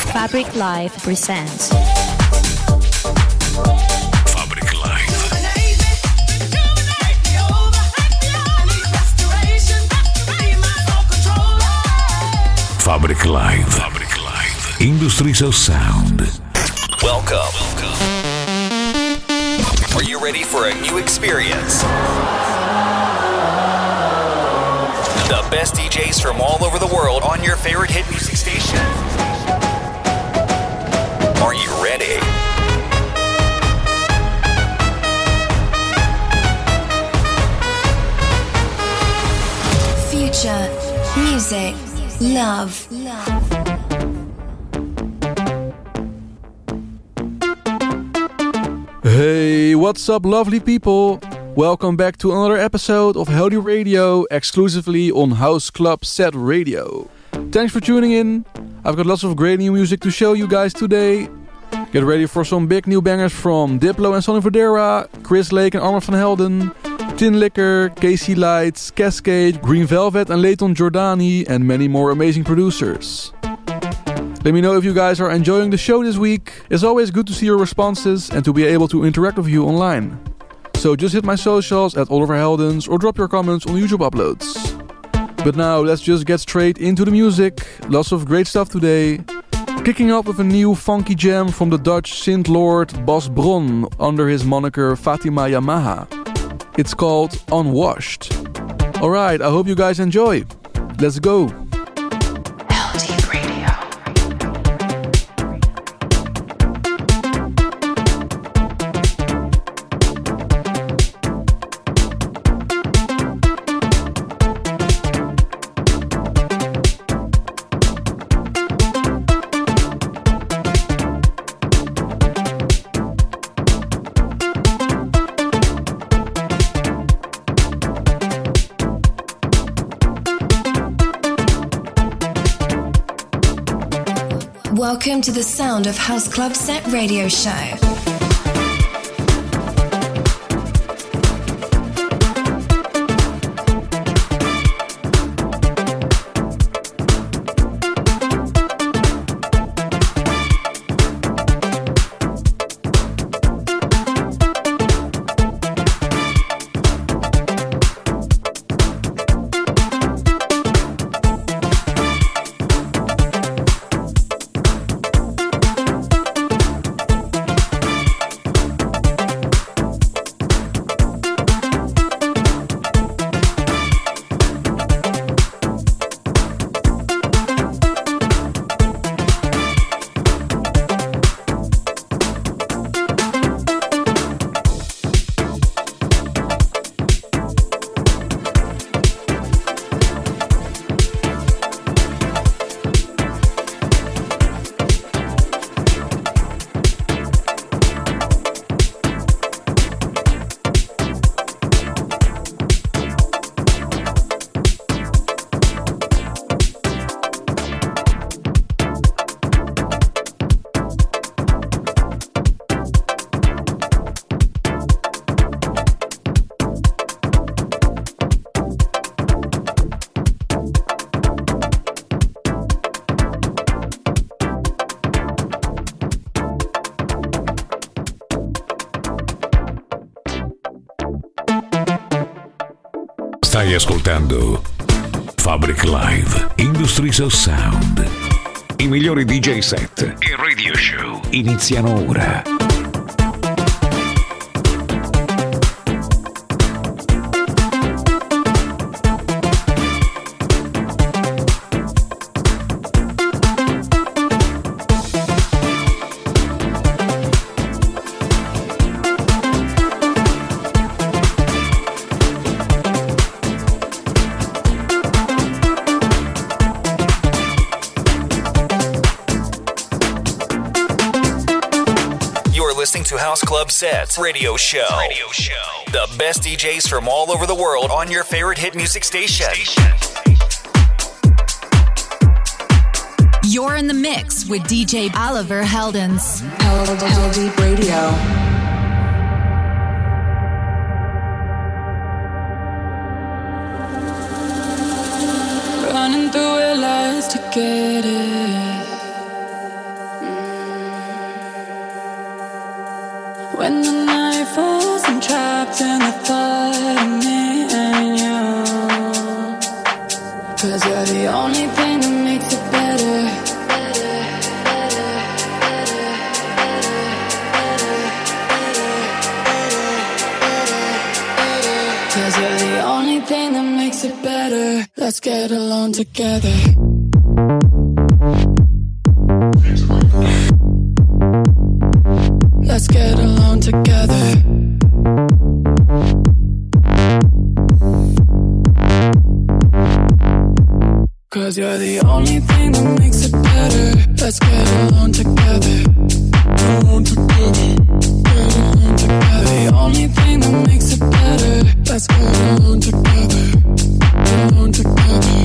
Fabric Live presents Fabric Live. Fabric Live. Fabric Live. Industries of Sound. Welcome. Are you ready for a new experience? The best DJs from all over the world on your favorite hit music station. Are you ready? Future, music, love. Hey, what's up, lovely people? Welcome back to another episode of Healthy Radio, exclusively on House Club Set Radio. Thanks for tuning in. I've got lots of great new music to show you guys today. Get ready for some big new bangers from Diplo and Sonny Fodera, Chris Lake and Armand van Helden, Tin Liquor, Casey Lights, Cascade, Green Velvet and Leighton Jordani, and many more amazing producers. Let me know if you guys are enjoying the show this week. It's always good to see your responses and to be able to interact with you online. So just hit my socials at Oliver Heldens or drop your comments on YouTube uploads. But now let's just get straight into the music. Lots of great stuff today. Kicking off with a new funky jam from the Dutch synth lord Bas Bron under his moniker Fatima Yamaha. It's called Unwashed. Alright, I hope you guys enjoy. Let's go. Welcome to the Sound of House Club Set Radio Show. Stai ascoltando Fabric Live, Industries of Sound. I migliori DJ set e radio show iniziano ora. Listening to House Club Set Radio Show. The best DJs from all over the world on your favorite hit music station. You're in the mix with DJ Oliver Heldens. Healthy Radio. Running through our lives to get it. When the night falls, I'm trapped in the thought of me and you. 'Cause you're the only thing that makes it better. 'Cause you're the only thing that makes it better. Let's get along together. Let's get along together. 'Cause you're the only thing that makes it better. Let's get along together. Along together. Get along together. The only thing that makes it better. Let's get along together. Along together.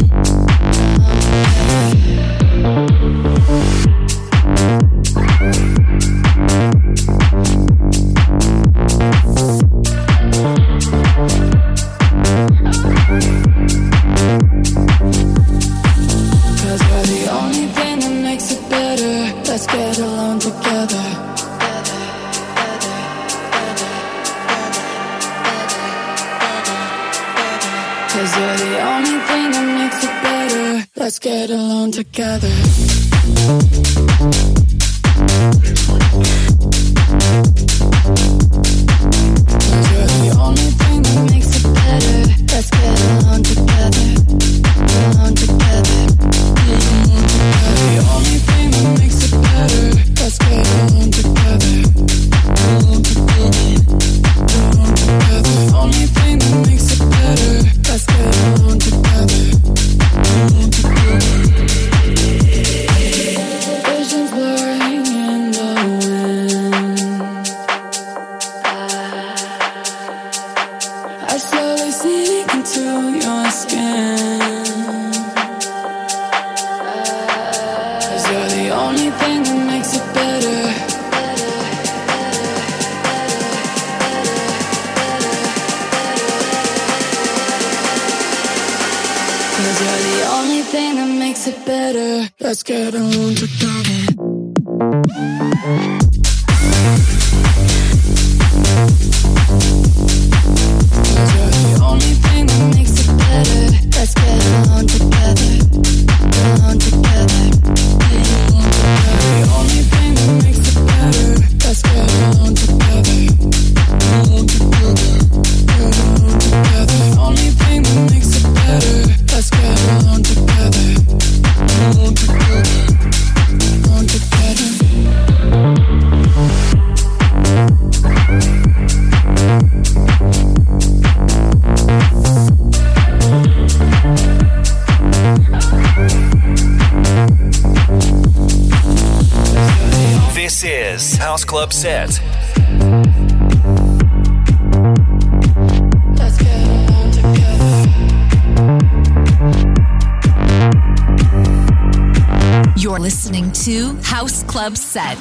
Let's get along together. Cause you're the only thing that makes it better. Let's get along together. Cause you're the only thing that makes it better. Let's get along together. Along together. The only thing that makes it better. Let's get along together. Along together. Along together. The only thing that makes it better. Let's get along together. Along together. Visions blurring in the wind. I slowly sink into your skin. You're the only thing that makes it better. Cause you're the only thing that makes it better. Let's get along together. Cause you're the only thing that makes it better. Let's get along together. Along together. The only thing that makes it better. Let's get along together. Along together. Get along together. The only thing that makes it better. Let's get along together. Along together. Along together. This is House Club Set. Let's get along together. You're listening to House Club Set.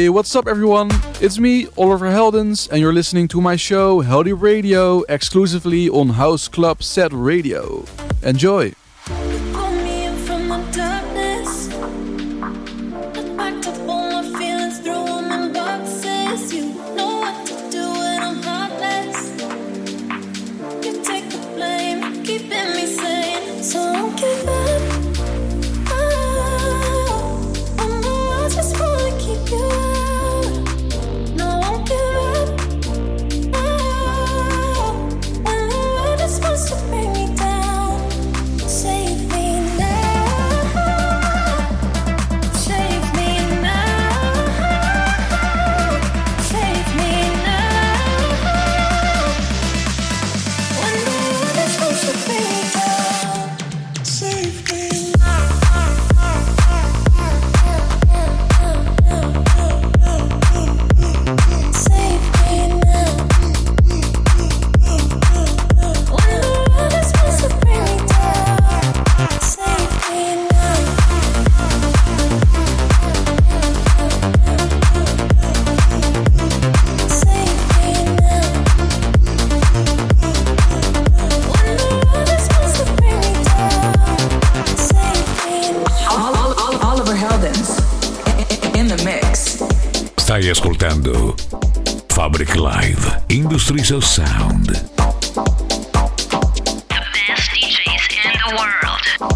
what's up everyone? It's me, Oliver Heldens, and you're listening to my show, Heldeep Radio, exclusively on House Club Set Radio. Enjoy! Stai ascoltando Fabric Live, Industries of Sound. The best DJs in the world.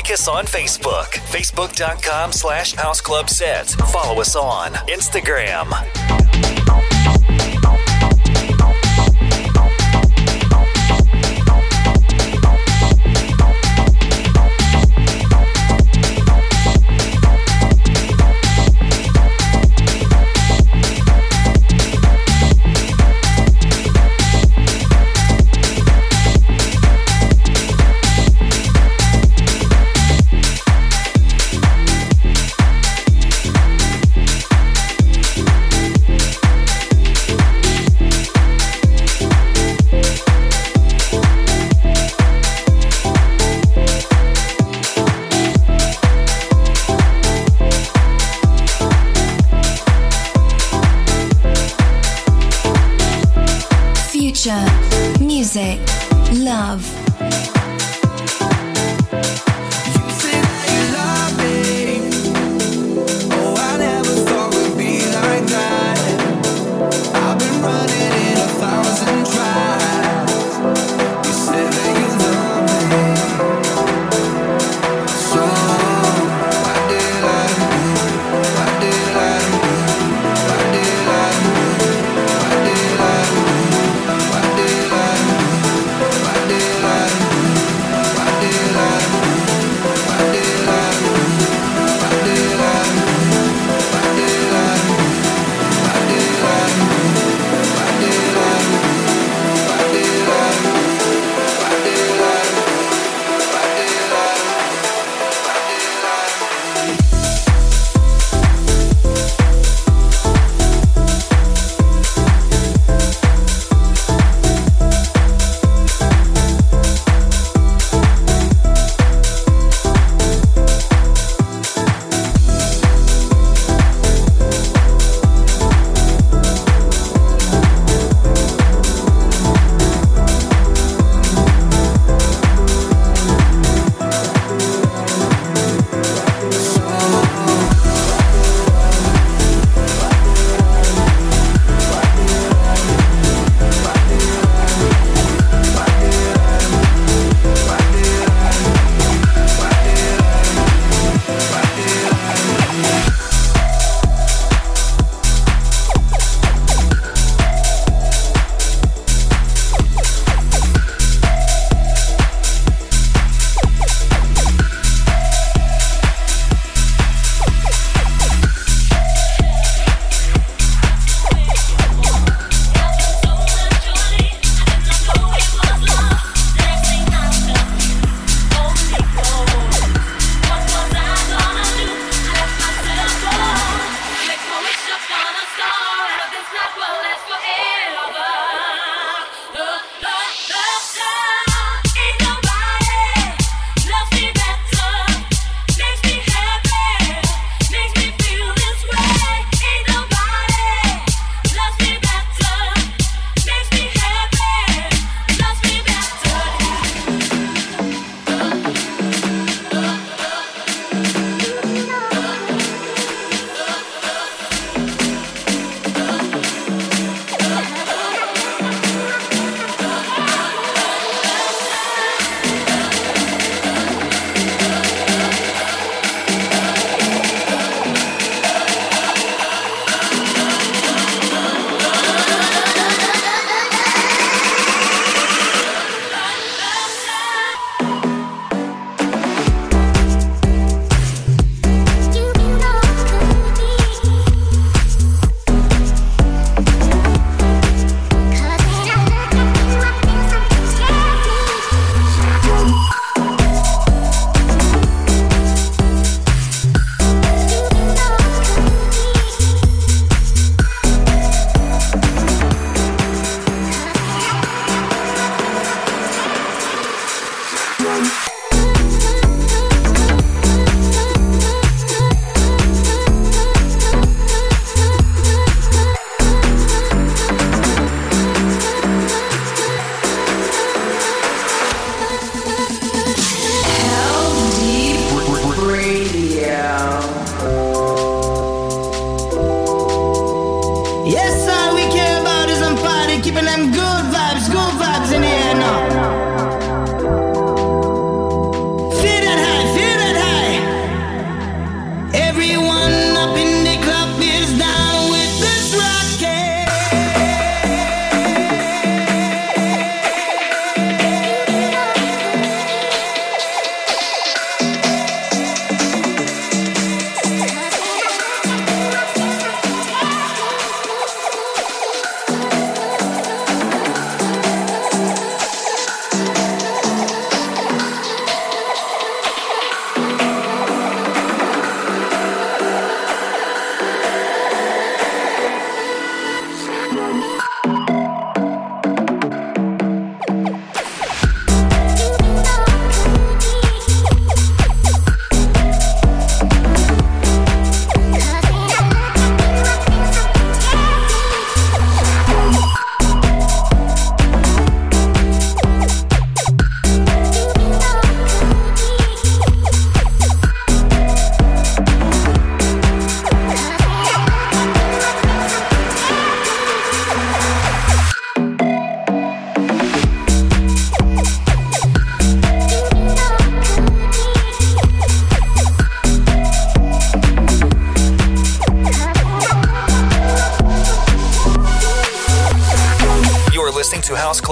Like us on Facebook, facebook.com/houseclubset. Follow us on Instagram.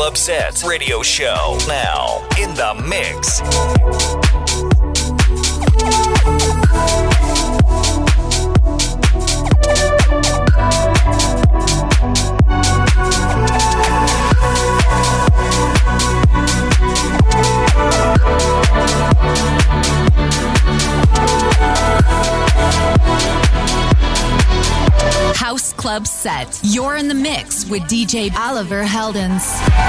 Club Set Radio Show. Now, in the mix. House Club Set. You're in the mix with DJ Oliver Heldens.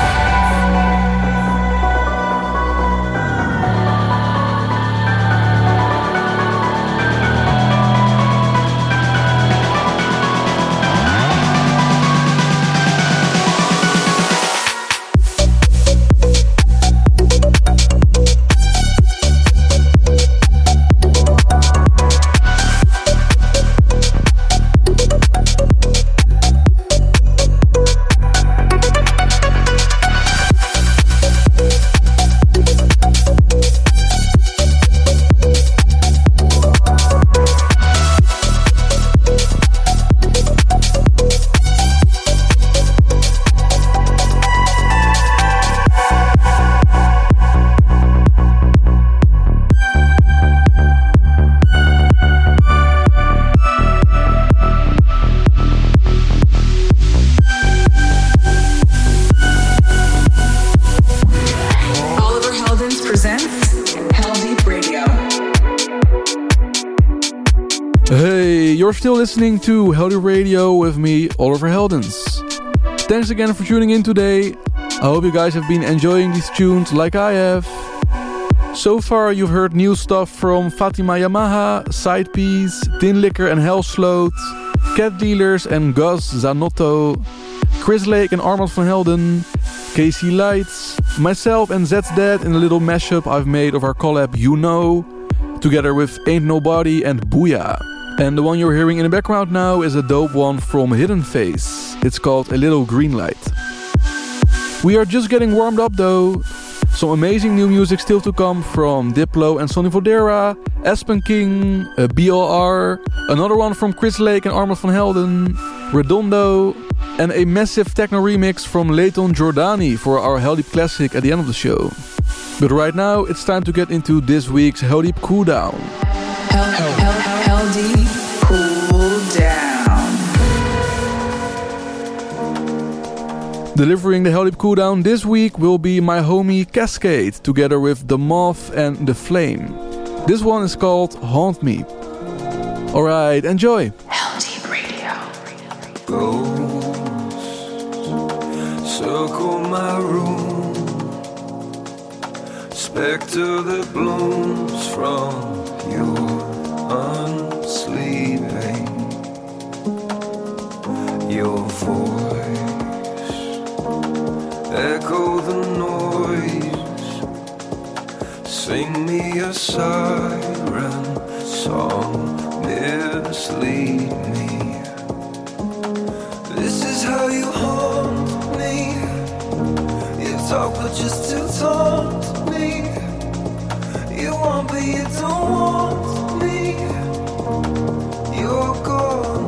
You're still listening to Heldeep Radio with me, Oliver Heldens. Thanks again for tuning in today. I hope you guys have been enjoying these tunes like I have. So far you've heard new stuff from Fatima Yamaha, Sidepiece, Tin Liquor and Hellsloot, Cat Dealers and Gus Zanotto, Chris Lake and Armand van Helden, Casey Lights, myself and Zed's Dad in a little mashup I've made of our collab You Know, together with Ain't Nobody and Booyah. And the one you're hearing in the background now is a dope one from Hidden Face. It's called A Little Green Light. We are just getting warmed up though. Some amazing new music still to come from Diplo and Sonny Fodera, Aspen King, BLR, another one from Chris Lake and Armand van Helden, Redondo, and a massive techno remix from Leighton Jordani for our Heldeep Classic at the end of the show. But right now it's time to get into this week's Heldeep Cooldown. Heldeep Cool Down. Delivering the Heldeep Cooldown this week will be my homie Cascade, together with The Moth and The Flame. This one is called Haunt Me. Alright, enjoy! Heldeep Radio. Ghosts circle my room, spectre that blooms from your unsleeping, your voice echo the noise, sing me a siren song, mislead me. This is how you haunt me. You talk but just to taunt me. You want but you don't want me. You're gone.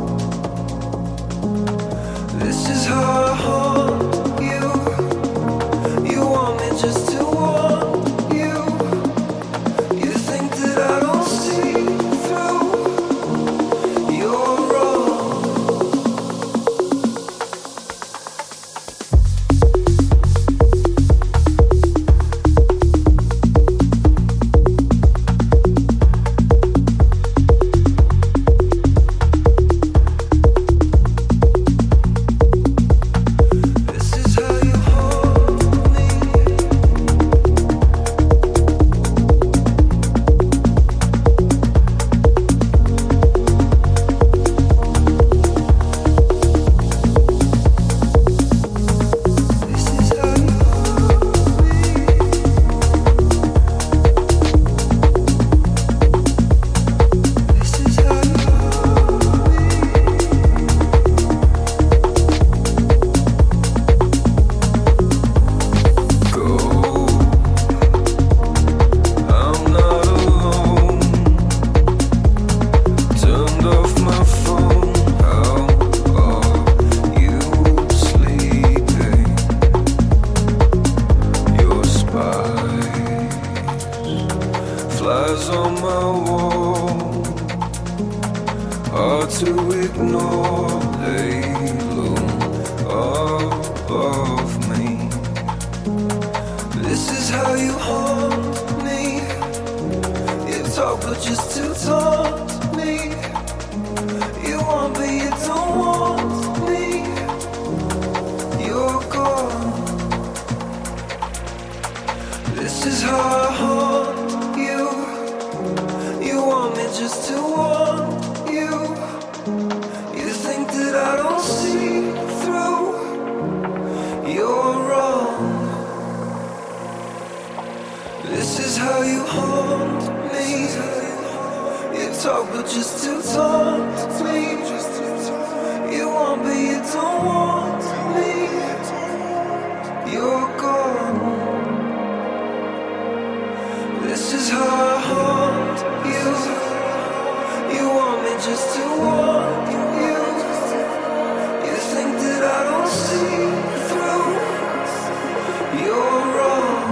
This is how I haunt you. You want me just to want you. You think that I don't see through. You're wrong. flies on my wall, hard to ignore, lay low above me. This is how you haunt me. You talk but just to taunt me. You want me, you don't want me. You're gone. This is how I haunt you. You want me just to want you. You think that I don't see through. You're wrong. This is how you haunt me. You talk but just to taunt me. You want me, you don't want me. You're gone. This is how I haunt you. You want me just to want you. You think that I don't see through. You're wrong.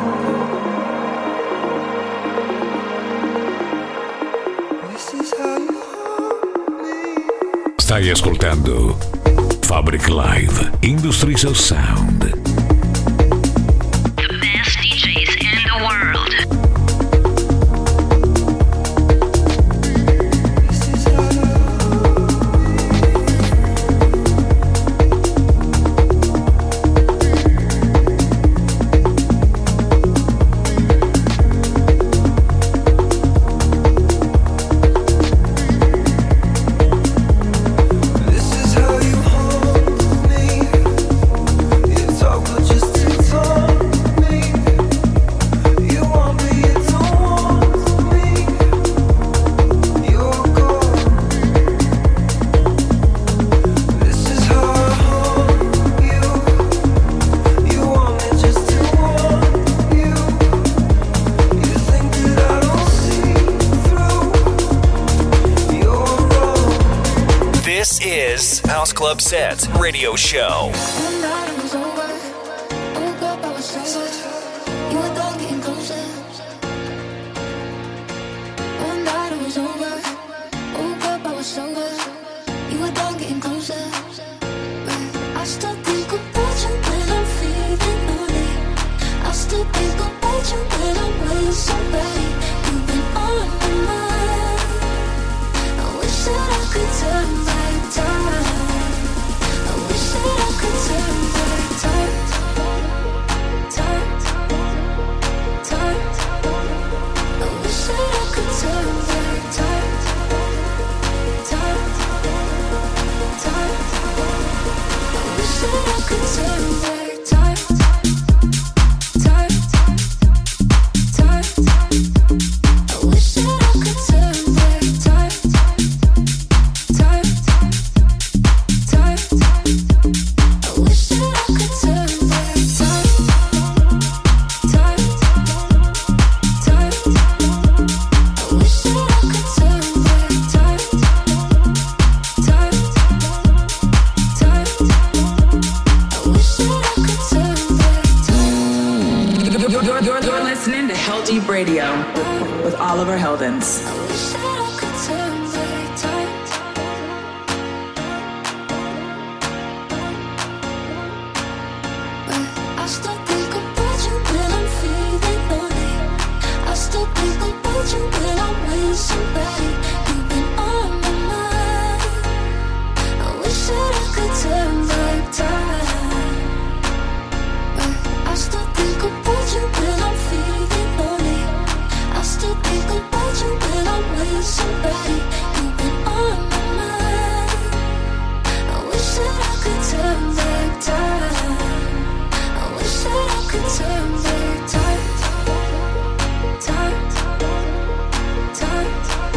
This is how you haunt me. Stai ascoltando Fabric Live Industries of Sound. The best DJs in the world. House Club Set Radio Show. One night it was over. Woke up, I was sober. You were done getting closer. One night it was over. Woke up, I was sober. You were done getting closer. But I still think about you when I'm feeling lonely. I still think about you when I'm with somebody. You've been on my mind. I wish that I could turn back time. I wish that I could turn back time. I wish that I could turn back time. I wish that I could turn back time. I wish that I could turn back time. I wish that I could turn back time. I wish that I could turn back time. I wish that I could turn back time. You're listening to Hell Deep Radio with Oliver Heldens. I wish that I could turn back time. But I still think about you when I'm feeling lonely. I still think about you when I'm with somebody. You've been on my mind. I wish that I could turn back time. But I still think about you when I'm feeling lonely. I still think about you when I'm with somebody. You've been on my mind. I wish that I could turn back time. I wish that I could turn back time.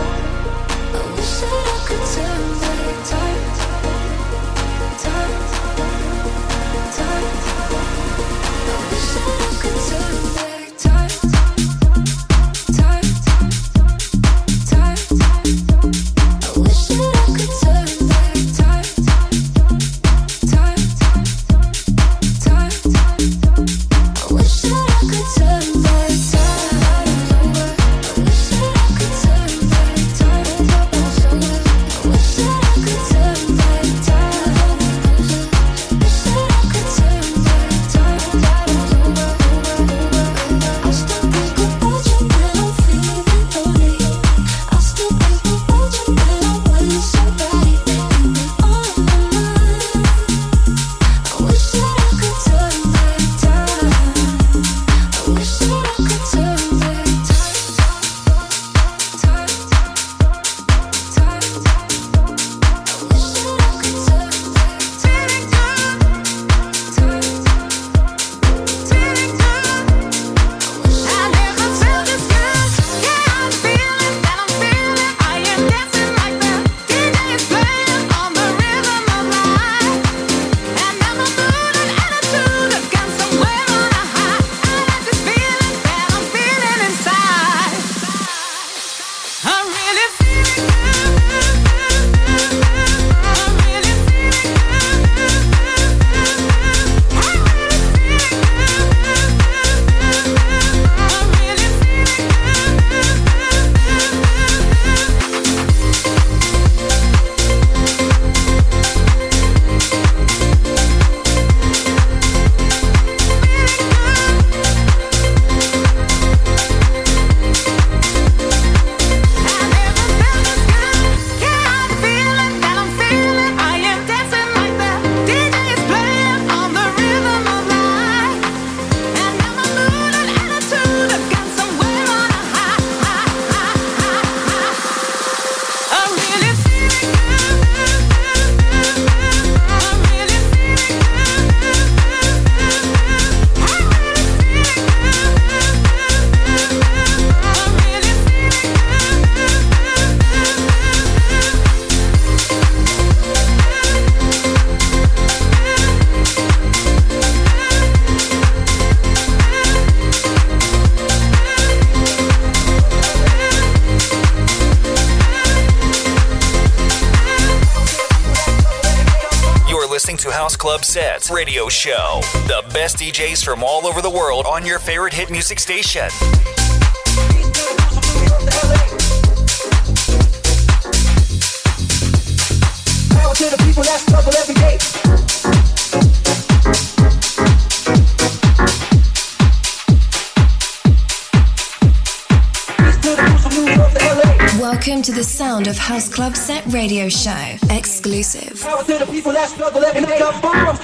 House Club Sets Radio Show. The best DJs from all over the world on your favorite hit music station. Power to the people that struggle every day. Welcome to the Sound of House Club Set Radio Show. Exclusive. Power to the people that struggle every day. Up bombs.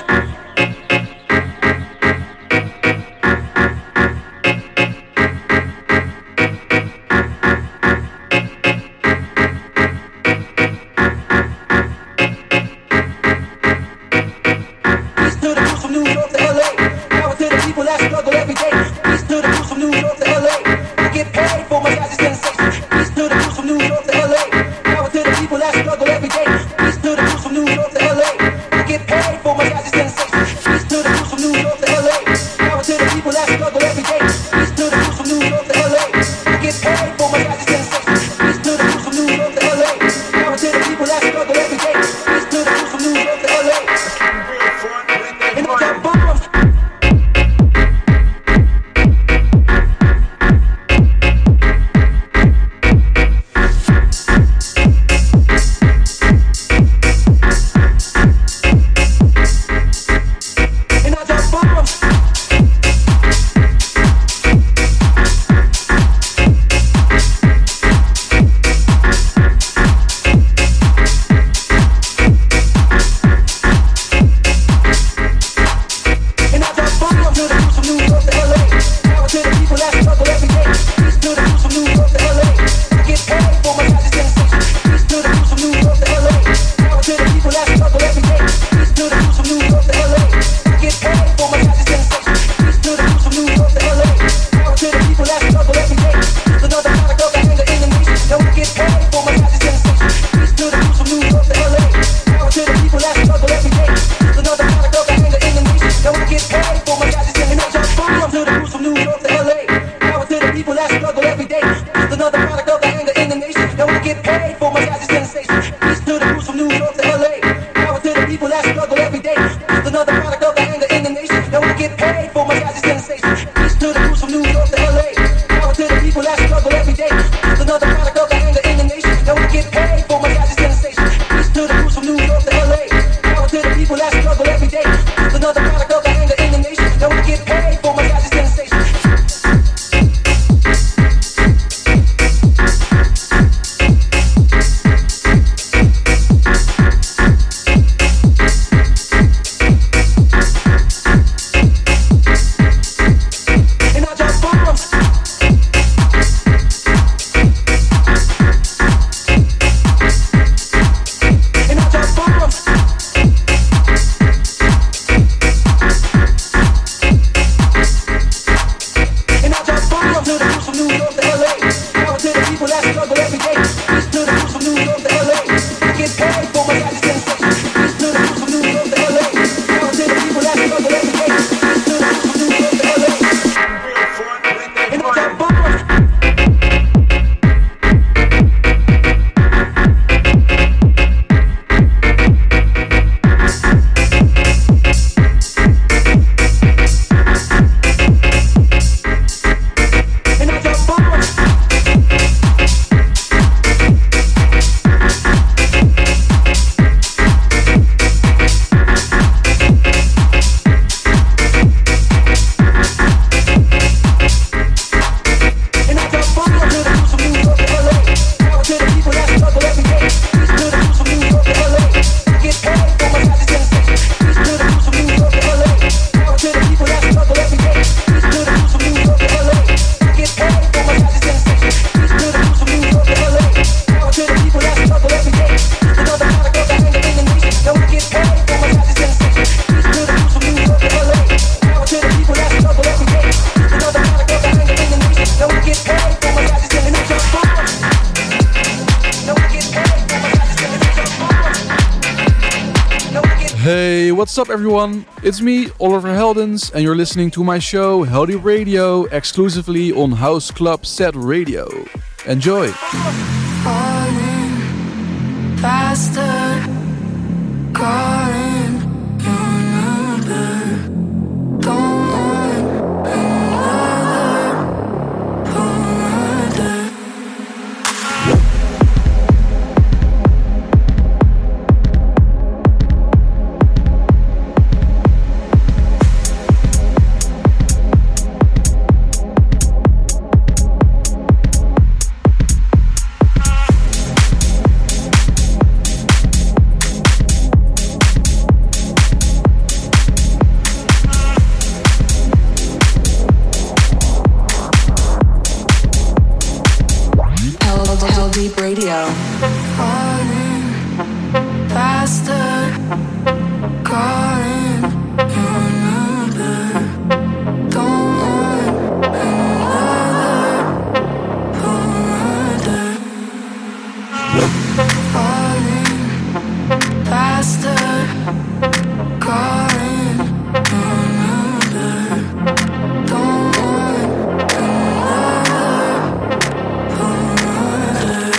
Hey, what's up everyone? It's me, Oliver Heldens, and you're listening to my show, Healthy Radio, exclusively on House Club Set Radio. Enjoy! Falling faster, calling your Deep Radio. Calling faster, calling your number. Don't want another reminder. Calling faster, calling your number. Don't want another reminder.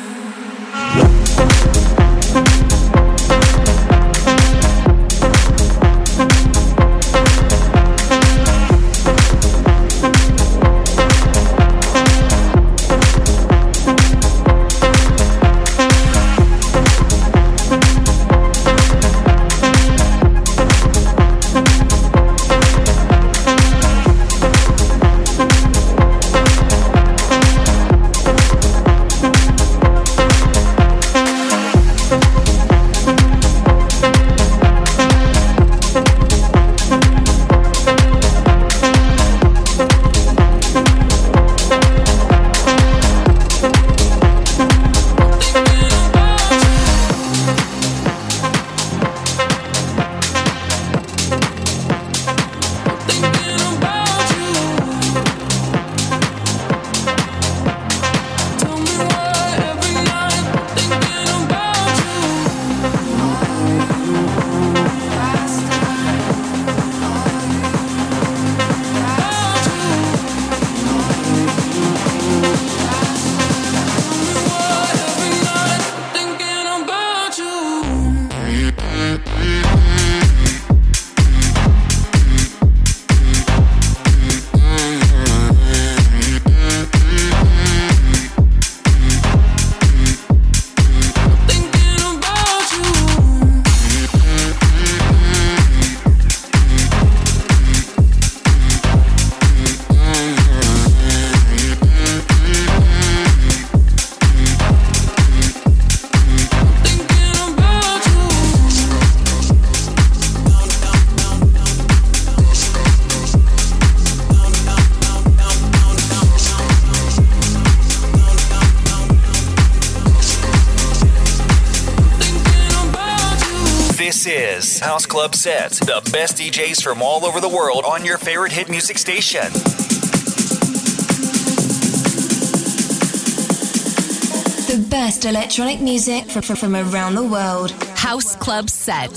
House Club Set, the best DJs from all over the world on your favorite hit music station. The best electronic music from around the world. House Club Set.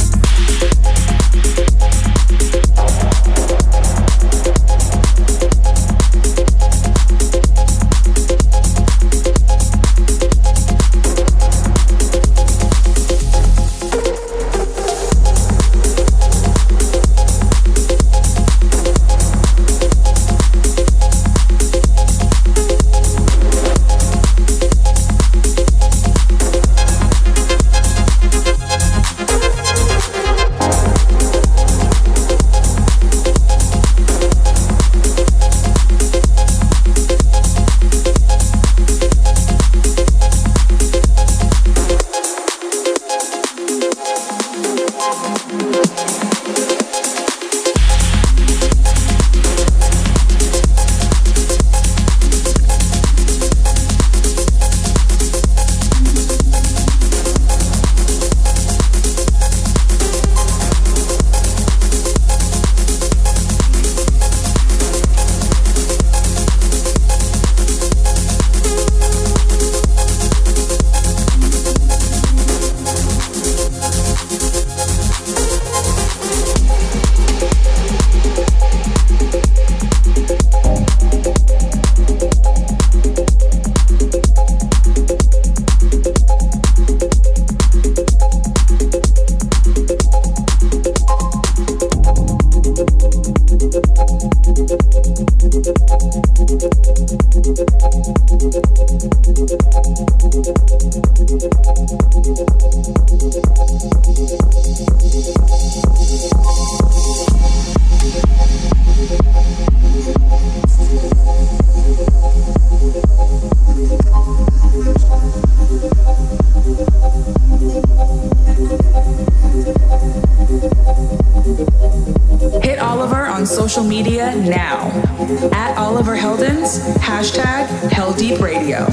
social media now. At Oliver Heldens, hashtag Hell Deep Radio.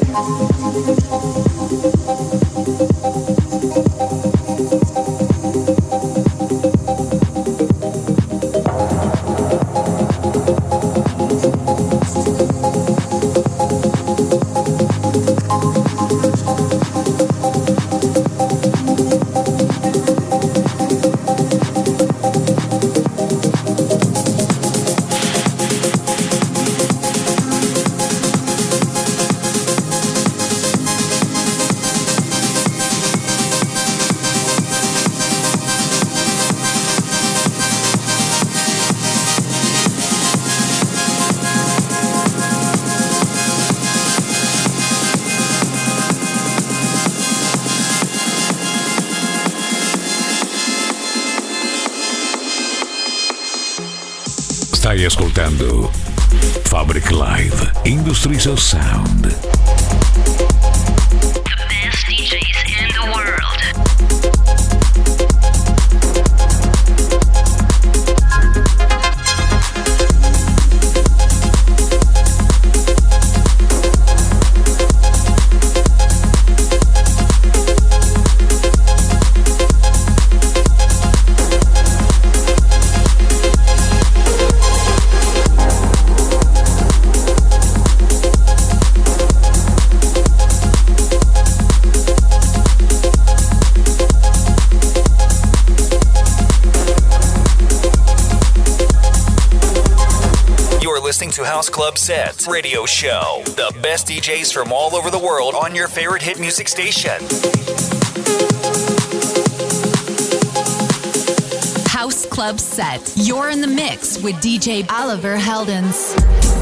Stai ascoltando Fabric Live Industries of Sound. The best DJs in the world. To House Club Set Radio Show. The best DJs from all over the world on your favorite hit music station. House Club Set. You're in the mix with DJ Oliver Heldens.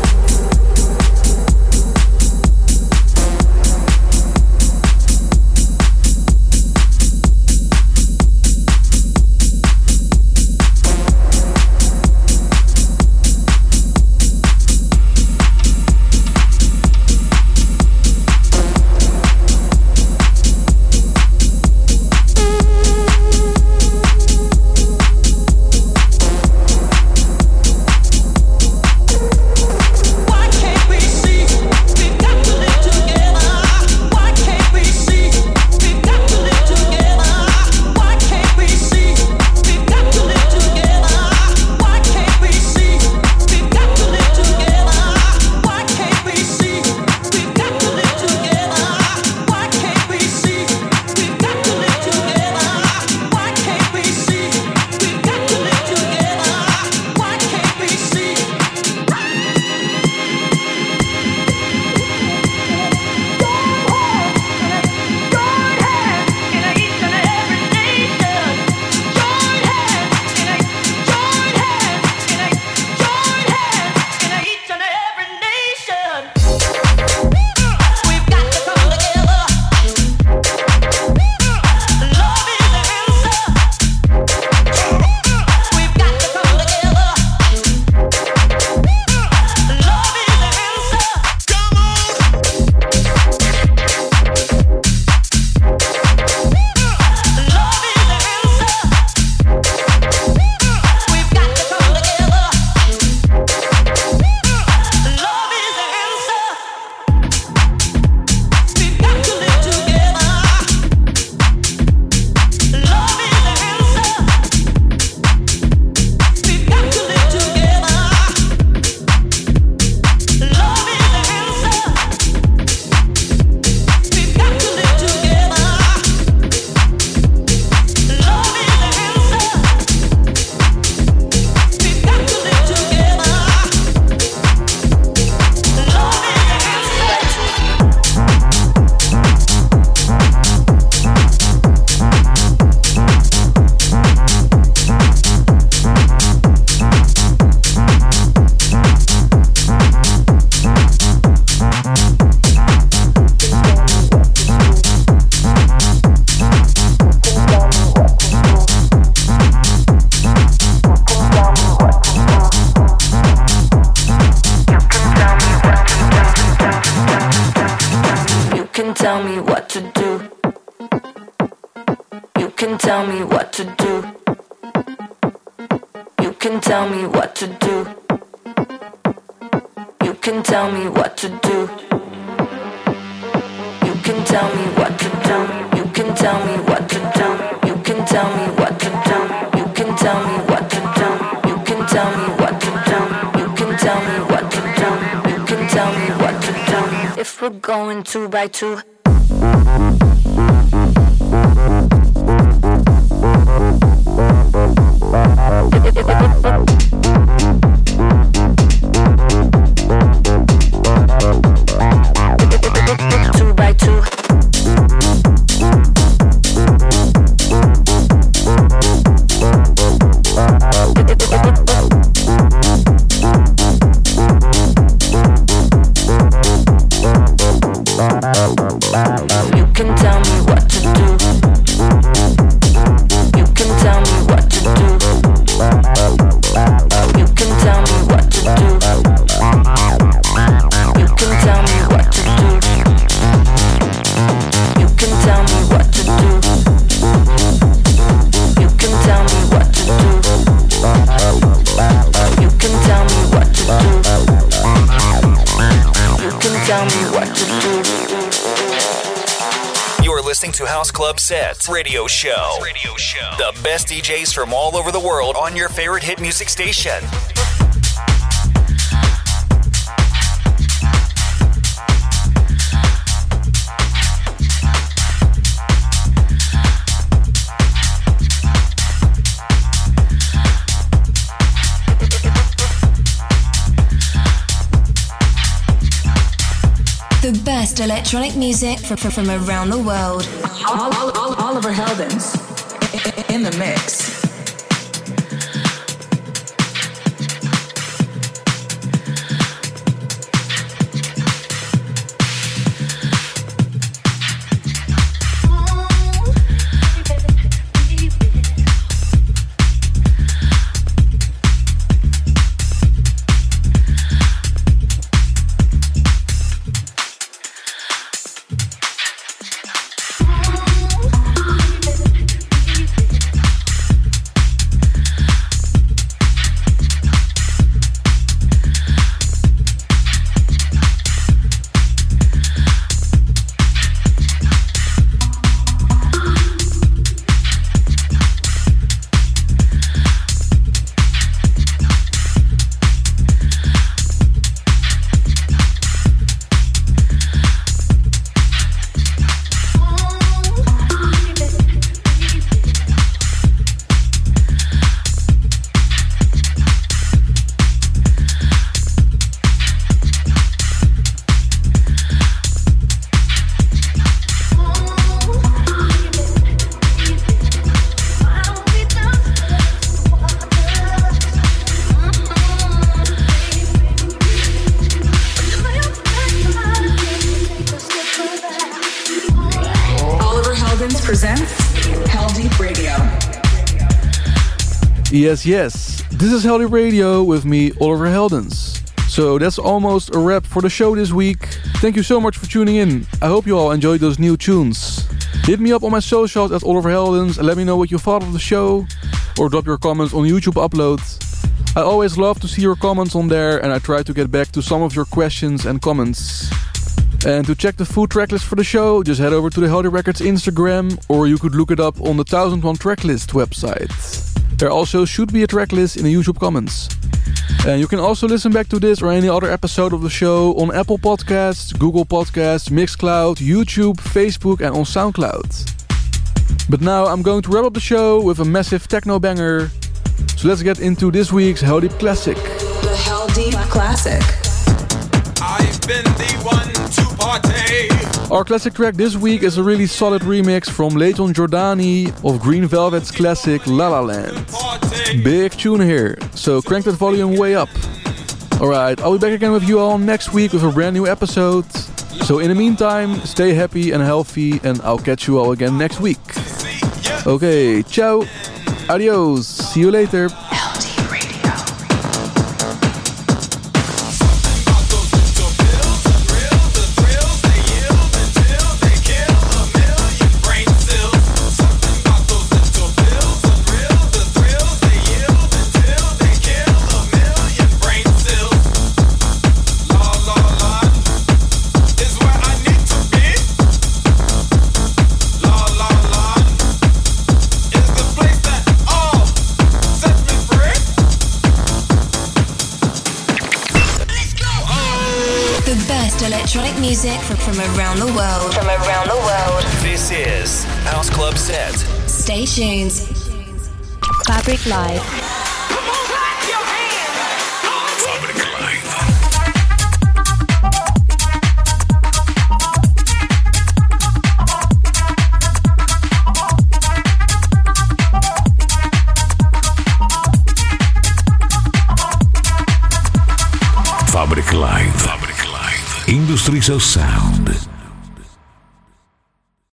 tell me what to do. You can tell me what to do. You can tell me what to do. You can tell me what to do. can tell me what to do. You can tell me what to do. You can tell me what to do. You can tell me what to do. You can tell me what to do. You can tell me what to do. You can tell me what to do. If we're going 2 by 2. To House Club Set Radio Show. The best DJs from all over the world on your favorite hit music station. The best electronic music from around the world. Oliver Heldens in the mix. Yes, this is Heldeep Radio with me, Oliver Heldens. So that's almost a wrap for the show this week. Thank you so much for tuning in. I hope you all enjoyed those new tunes. Hit me up on my socials at Oliver Heldens and let me know what you thought of the show, or drop your comments on YouTube uploads. I always love to see your comments on there, and I try to get back to some of your questions and comments. And to check the full tracklist for the show, just head over to the Heldeep Records Instagram, or you could look it up on the 1001 Tracklist website. There also should be a tracklist in the YouTube comments. And you can also listen back to this or any other episode of the show on Apple Podcasts, Google Podcasts, Mixcloud, YouTube, Facebook and on SoundCloud. But now I'm going to wrap up the show with a massive techno banger. So let's get into this week's Heldeep Classic. The Heldeep Classic. I've been the one to party. Our classic track this week is a really solid remix from Layton Giordani of Green Velvet's classic La La Land. Big tune here, so crank that volume way up. Alright, I'll be back again with you all next week with a brand new episode. So in the meantime, stay happy and healthy, and I'll catch you all again next week. Okay, ciao, adios, see you later. best electronic music from around the world. From around the world. This is House Club Set. Stay tuned. Fabric Live. Fabric Live. Industries of Sound.